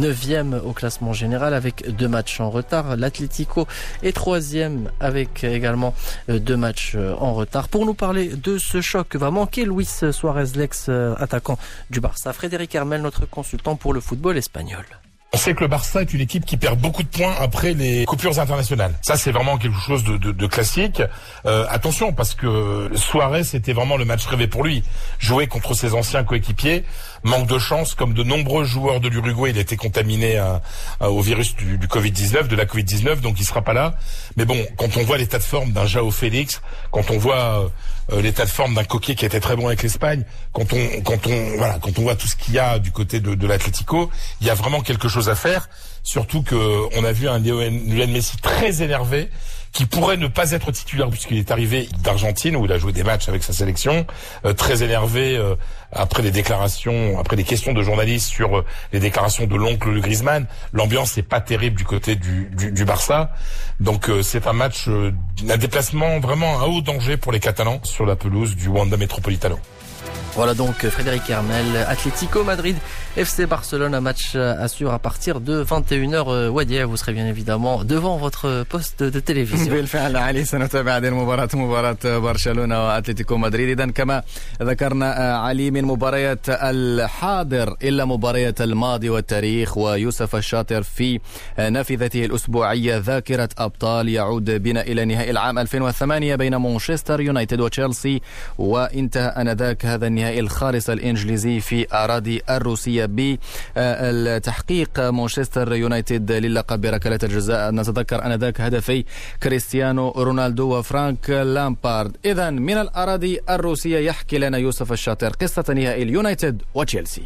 9e au classement général avec 2 matchs en retard. L'Atlético est 3e avec également 2 matchs en retard. Pour nous parler de ce choc, va manquer Luis Suarez, l'ex-attaquant du Barça. Frédéric Hermel, notre consultant pour le football espagnol. On sait que le Barça est une équipe qui perd beaucoup de points après les coupures internationales. Ça, c'est vraiment quelque chose de classique. Attention, parce que Suarez, c'était vraiment le match rêvé pour lui. Jouer contre ses anciens coéquipiers, manque de chance, comme de nombreux joueurs de l'Uruguay, il a été contaminé au virus du Covid-19, de la Covid-19, donc il sera pas là. Mais bon, quand on voit l'état de forme d'un João Félix, quand on voit l'état de forme d'un Coquet qui était très bon avec l'Espagne, quand on voit tout ce qu'il y a du côté de l'Atlético, il y a vraiment quelque chose à faire. Surtout que on a vu un Lionel Messi très énervé, qui pourrait ne pas être titulaire puisqu'il est arrivé d'Argentine où il a joué des matchs avec sa sélection, très énervé après les questions de journalistes sur les déclarations de l'oncle Griezmann. L'ambiance n'est pas terrible du côté du Barça. Donc c'est un match, un déplacement vraiment à haut danger pour les Catalans sur la pelouse du Wanda Metropolitano. Voilà donc Frédéric Hermel, Atlético Madrid, FC Barcelone, un match à suivre à partir de 21h. Wadia, vous serez bien évidemment devant votre poste de télévision. بالفعل علي، سنتابع هذه المباراة، مباراة برشلونة وأتلتيكو مدريد. إذن كما ذكرنا علي، من مباريات الحاضر إلا مباريات الماضي والتاريخ، ويوسف الشاطر في نافذته الأسبوعية ذاكرة أبطال يعود بنا إلى نهائي العام 2008 بين مانشستر يونايتد وتشيلسي، وانتهى آنذاك هذا النهائي الخالص الإنجليزي في أراضي الروسية بالتحقيق مانشستر يونايتد للقب بركلة الجزاء. نتذكر آنذاك هدفي كريستيانو رونالدو وفرانك لامبارد. إذن من الأراضي الروسية يحكي لنا يوسف الشاطر قصة نهائي اليونايتد وتشيلسي.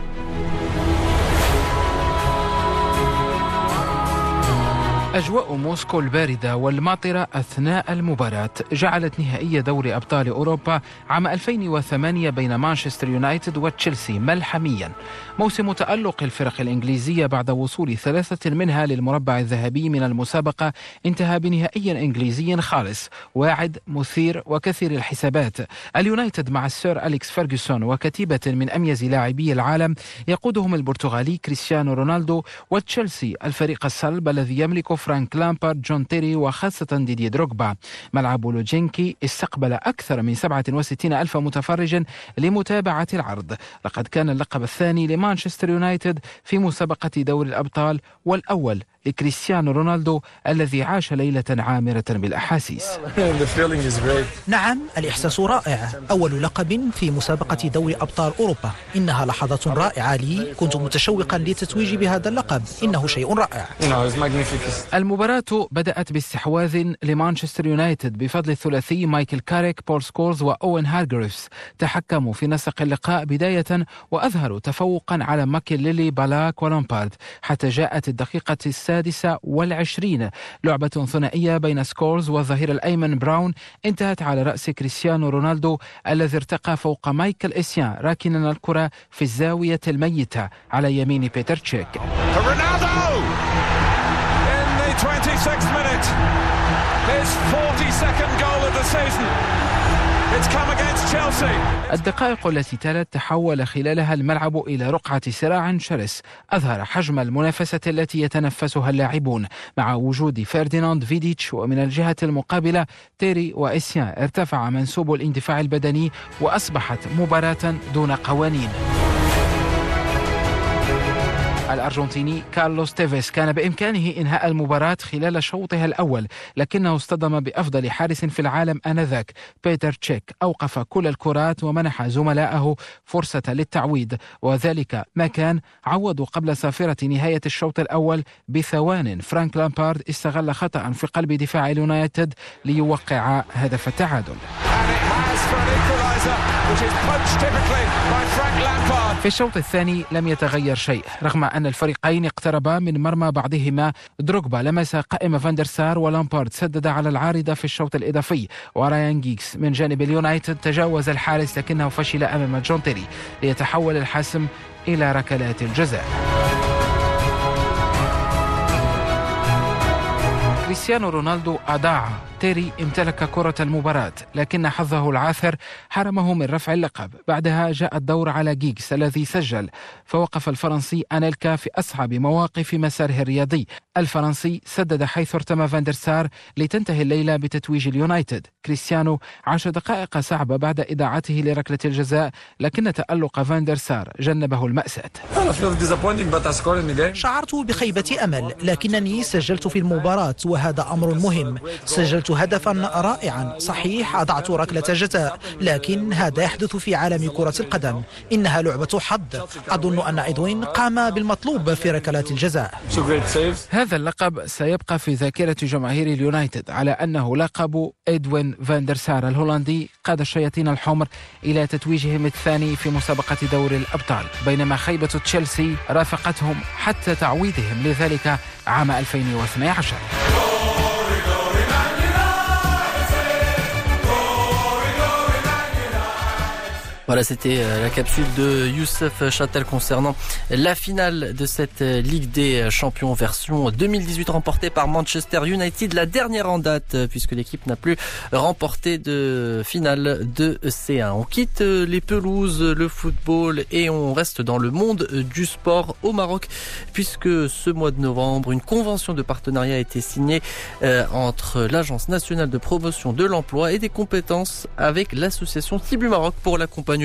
أجواء موسكو الباردة والماطرة أثناء المباراة جعلت نهائي دوري أبطال أوروبا عام 2008 بين مانشستر يونايتد وتشيلسي ملحميا. موسم تألق الفرق الإنجليزية بعد وصول 3 منها للمربع الذهبي من المسابقة انتهى بنهائي إنجليزي خالص، واعد، مثير وكثير الحسابات. اليونايتد مع السير أليكس فيرغسون وكتيبة من أميز لاعبي العالم يقودهم البرتغالي كريستيانو رونالدو، وتشيلسي الفريق الصلب الذي يملك فرانك لامبارد، جون تيري وخاصة ديدي دروغبا. ملعب لوجينكي استقبل أكثر من 67 ألف متفرج لمتابعة العرض. لقد كان اللقب الثاني لمانشستر يونايتد في مسابقة دوري الأبطال، والأول لكريستيانو رونالدو الذي عاش ليلة عامرة بالأحاسيس. نعم، الإحساس رائع، أول لقب في مسابقة دوري أبطال أوروبا. إنها لحظة رائعة لي، كنت متشوقا للتتويج بهذا اللقب، إنه شيء رائع. المباراة بدأت باستحواذ لمانشستر يونايتد بفضل الثلاثي مايكل كاريك، بول سكولز وأوين هارغريفز. تحكموا في نسق اللقاء بداية وأظهروا تفوقا على ماكيليلي، بالاك ولامبارد، حتى جاءت الدقيقة 26. لعبة ثنائية بين سكولز والظهير الأيمن براون انتهت على رأس كريستيانو رونالدو الذي ارتقى فوق مايكل إسيان راكنا الكرة في الزاوية الميتة على يمين بيتر تشيك. الدقائق التي تلت تحول خلالها الملعب إلى رقعة صراع شرس أظهر حجم المنافسة التي يتنفسها اللاعبون مع وجود فرديناند فيديتش، ومن الجهة المقابلة تيري وإسيان ارتفع منسوب الاندفاع البدني وأصبحت مباراة دون قوانين. الأرجنتيني كارلوس تيفيس كان بإمكانه إنهاء المباراة خلال شوطها الأول، لكنه اصطدم بأفضل حارس في العالم آنذاك بيتر تشيك، أوقف كل الكرات ومنح زملائه فرصة للتعويض، وذلك ما كان عوضوا قبل صافرة نهاية الشوط الأول بثوان. فرانك لامبارد استغل خطأ في قلب دفاع اليونايتد ليوقع هدف التعادل. في الشوط الثاني لم يتغير شيء، رغم أن الفريقين اقتربا من مرمى بعضهما. دروغبا لمس قائم فاندرسار، ولامبارد سدد على العارضة في الشوط الإضافي، ورايان جيكس من جانب اليونايتد تجاوز الحارس لكنه فشل أمام جون تيري ليتحول الحسم إلى ركلات الجزاء. كريستيانو رونالدو أضاع، تيري امتلك كرة المباراة، لكن حظه العاثر حرمه من رفع اللقب. بعدها جاء الدور على جيكس الذي سجل، فوقف الفرنسي أنيلكا في أصعب مواقف مساره الرياضي. الفرنسي سدد حيث ارتمى فان دير سار لتنتهي الليلة بتتويج اليونايتد. كريستيانو عاش دقائق صعبة بعد إضاعته لركلة الجزاء، لكن تألق فان دير سار جنبه المأساة. شعرت بخيبة أمل، لكنني سجلت في المباراة وهذا أمر مهم. سجلت هدفا رائعا، صحيح أضعت ركلة جزاء، لكن هذا يحدث في عالم كرة القدم، إنها لعبة حظ. أظن أن إدوين قام بالمطلوب في ركلات الجزاء. هذا اللقب سيبقى في ذاكرة جماهير اليونايتد على أنه لقب إدوين فان دير سار الهولندي قاد الشياطين الحمر إلى تتويجهم الثاني في مسابقة دوري الأبطال، بينما خيبة تشيلسي رافقتهم حتى تعويضهم لذلك عام 2012. Voilà, c'était la capsule de Youssef Châtel concernant la finale de cette Ligue des Champions version 2018 remportée par Manchester United, la dernière en date puisque l'équipe n'a plus remporté de finale de C1. On quitte les pelouses, le football et on reste dans le monde du sport au Maroc puisque ce mois de novembre, une convention de partenariat a été signée entre l'Agence nationale de promotion de l'emploi et des compétences avec l'association Tibu Maroc pour l'accompagnement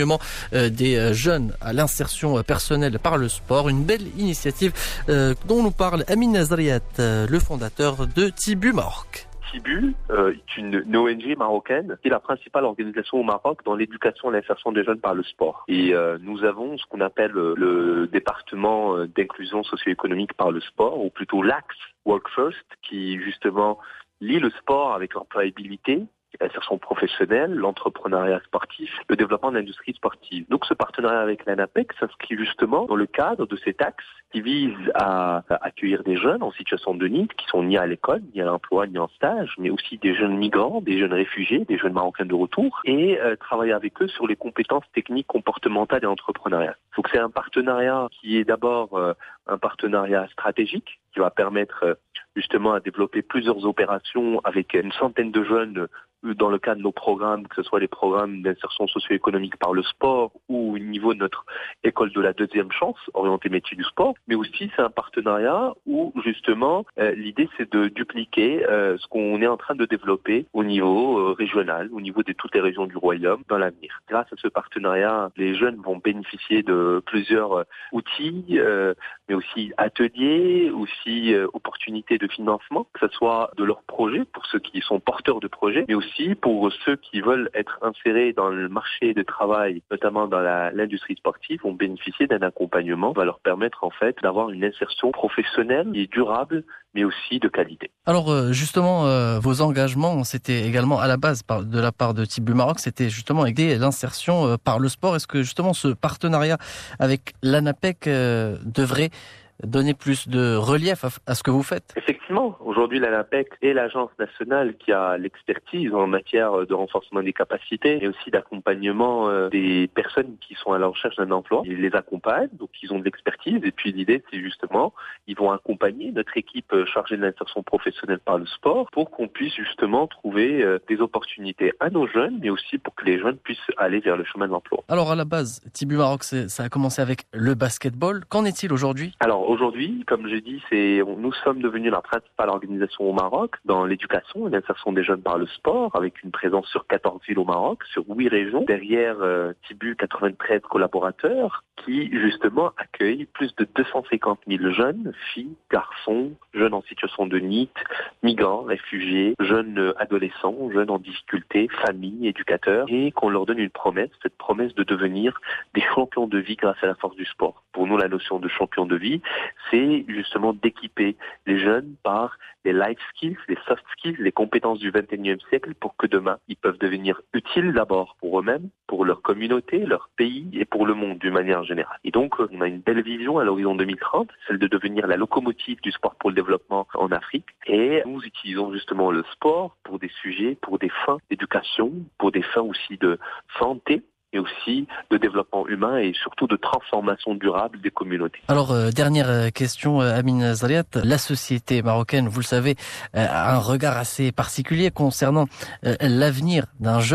des jeunes à l'insertion personnelle par le sport. Une belle initiative dont nous parle Amin Zariat, le fondateur de Tibu Maroc. Tibu est une ONG marocaine qui est la principale organisation au Maroc dans l'éducation et l'insertion des jeunes par le sport. Et nous avons ce qu'on appelle le département d'inclusion socio-économique par le sport, ou plutôt l'AXE Work First, qui justement lie le sport avec l'employabilité, l'insertion professionnelle, l'entrepreneuriat sportif, le développement de l'industrie sportive. Donc ce partenariat avec l'ANAPEC s'inscrit justement dans le cadre de cet axe qui vise à accueillir des jeunes en situation de need qui sont ni à l'école, ni à l'emploi, ni en stage, mais aussi des jeunes migrants, des jeunes réfugiés, des jeunes marocains de retour, et travailler avec eux sur les compétences techniques, comportementales et entrepreneuriales. Donc c'est un partenariat qui est d'abord un partenariat stratégique qui va permettre justement à développer plusieurs opérations avec une centaine de jeunes dans le cadre de nos programmes, que ce soit les programmes d'insertion socio-économique par le sport ou au niveau de notre école de la deuxième chance, orientée métier du sport. Mais aussi, c'est un partenariat où, justement, l'idée, c'est de dupliquer ce qu'on est en train de développer au niveau régional, au niveau de toutes les régions du royaume dans l'avenir. Grâce à ce partenariat, les jeunes vont bénéficier de plusieurs outils, mais aussi ateliers, aussi opportunités de financement, que ce soit de leurs projets, pour ceux qui sont porteurs de projets, mais aussi pour ceux qui veulent être insérés dans le marché de travail, notamment dans l'industrie sportive, vont bénéficier d'un accompagnement qui va leur permettre en fait d'avoir une insertion professionnelle et durable, mais aussi de qualité. Alors justement, vos engagements, c'était également à la base de la part de Tibu Maroc, c'était justement aider l'insertion par le sport. Est-ce que justement ce partenariat avec l'ANAPEC devrait donner plus de relief à ce que vous faites? Effectivement, aujourd'hui l'ANAPEC est l'agence nationale qui a l'expertise en matière de renforcement des capacités et aussi d'accompagnement des personnes qui sont à la recherche d'un emploi. Ils les accompagnent, donc ils ont de l'expertise et puis l'idée c'est justement, ils vont accompagner notre équipe chargée de l'insertion professionnelle par le sport pour qu'on puisse justement trouver des opportunités à nos jeunes, mais aussi pour que les jeunes puissent aller vers le chemin de l'emploi. Alors à la base, Tibu Maroc, ça a commencé avec le basketball. Qu'en est-il aujourd'hui? Alors aujourd'hui, comme j'ai dit, nous sommes devenus la principale organisation au Maroc dans l'éducation et l'insertion des jeunes par le sport, avec une présence sur 14 villes au Maroc, sur 8 régions. Derrière Tibu, 93 collaborateurs qui justement accueillent plus de 250 000 jeunes, filles, garçons, jeunes en situation de need, migrants, réfugiés, jeunes adolescents, jeunes en difficulté, familles, éducateurs, et qu'on leur donne une promesse, cette promesse de devenir des champions de vie grâce à la force du sport. Pour nous, la notion de champion de vie, c'est justement d'équiper les jeunes par les life skills, les soft skills, les compétences du 21e siècle pour que demain, ils peuvent devenir utiles d'abord pour eux-mêmes, pour leur communauté, leur pays et pour le monde d'une manière générale. Et donc, on a une belle vision à l'horizon 2030, celle de devenir la locomotive du sport pour le développement en Afrique. Et nous utilisons justement le sport pour des sujets, pour des fins d'éducation, pour des fins aussi de santé, et aussi de développement humain et surtout de transformation durable des communautés. Alors, dernière question, Amin Zariat. La société marocaine, vous le savez, a un regard assez particulier concernant l'avenir d'un jeune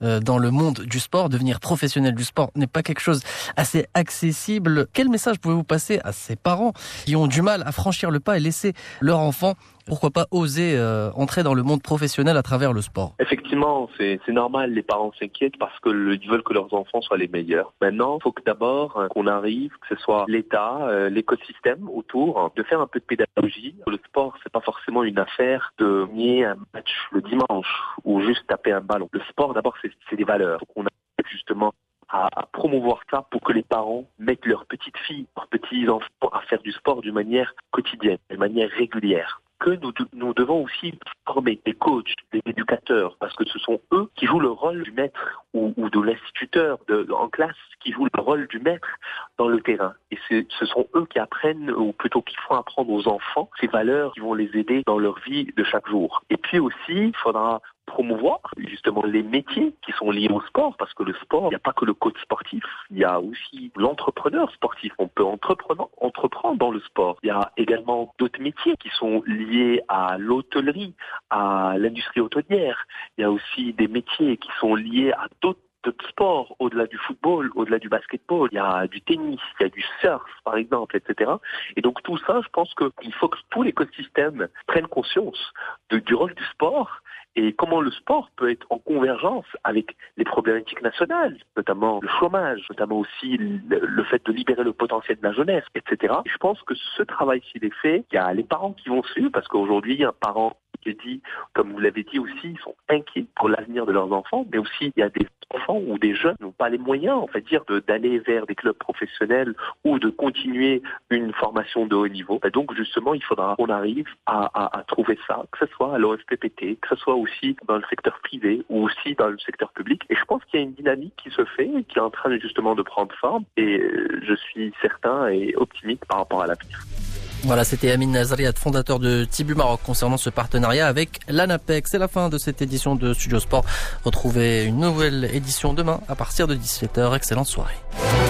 dans le monde du sport. Devenir professionnel du sport n'est pas quelque chose assez accessible. Quel message pouvez-vous passer à ces parents qui ont du mal à franchir le pas et laisser leur enfant, pourquoi pas, oser entrer dans le monde professionnel à travers le sport? Effectivement, c'est normal, les parents s'inquiètent parce qu'ils veulent que leurs enfants soient les meilleurs. Maintenant, il faut que d'abord qu'on arrive, que ce soit l'État, l'écosystème autour, de faire un peu de pédagogie. Le sport, c'est pas forcément une affaire de gagner un match le dimanche ou juste taper un ballon. Le sport, d'abord, c'est des valeurs. Donc, on a justement à promouvoir ça pour que les parents mettent leurs petites filles, leurs petits enfants à faire du sport d'une manière quotidienne, d'une manière régulière. Que nous devons aussi former des coachs, des éducateurs, parce que ce sont eux qui jouent le rôle du maître ou de l'instituteur en classe, qui jouent le rôle du maître dans le terrain. Et ce sont eux qui apprennent, ou plutôt qui font apprendre aux enfants ces valeurs qui vont les aider dans leur vie de chaque jour. Et puis aussi, il faudra promouvoir justement les métiers qui sont liés au sport, parce que le sport, il n'y a pas que le coach sportif, il y a aussi l'entrepreneur sportif. On peut entreprendre dans le sport. Il y a également d'autres métiers qui sont liés à l'hôtellerie, à l'industrie hôtelière. Il y a aussi des métiers qui sont liés à d'autres sports, au-delà du football, au-delà du basketball. Il y a du tennis, il y a du surf, par exemple, etc. Et donc tout ça, je pense qu'il faut que tout l'écosystème prenne conscience du rôle du sport et comment le sport peut être en convergence avec les problématiques nationales, notamment le chômage, notamment aussi le fait de libérer le potentiel de la jeunesse, etc. Et je pense que ce travail, s'il est fait, il y a les parents qui vont suivre, parce qu'aujourd'hui, un parent qui dit, comme vous l'avez dit aussi, ils sont inquiets pour l'avenir de leurs enfants, mais aussi il y a des enfants ou des jeunes qui n'ont pas les moyens, on va dire, d'aller vers des clubs professionnels ou de continuer une formation de haut niveau. Et donc justement, il faudra qu'on arrive à trouver ça, que ce soit à l'OFPPT, que ce soit aussi dans le secteur privé ou aussi dans le secteur public. Et je pense qu'il y a une dynamique qui se fait, qui est en train justement de prendre forme, et je suis certain et optimiste par rapport à l'avenir. Voilà, c'était Amine Nazriat, fondateur de Tibu Maroc, concernant ce partenariat avec l'ANAPEC. C'est la fin de cette édition de Studio Sport. Retrouvez une nouvelle édition demain à partir de 17h. Excellente soirée.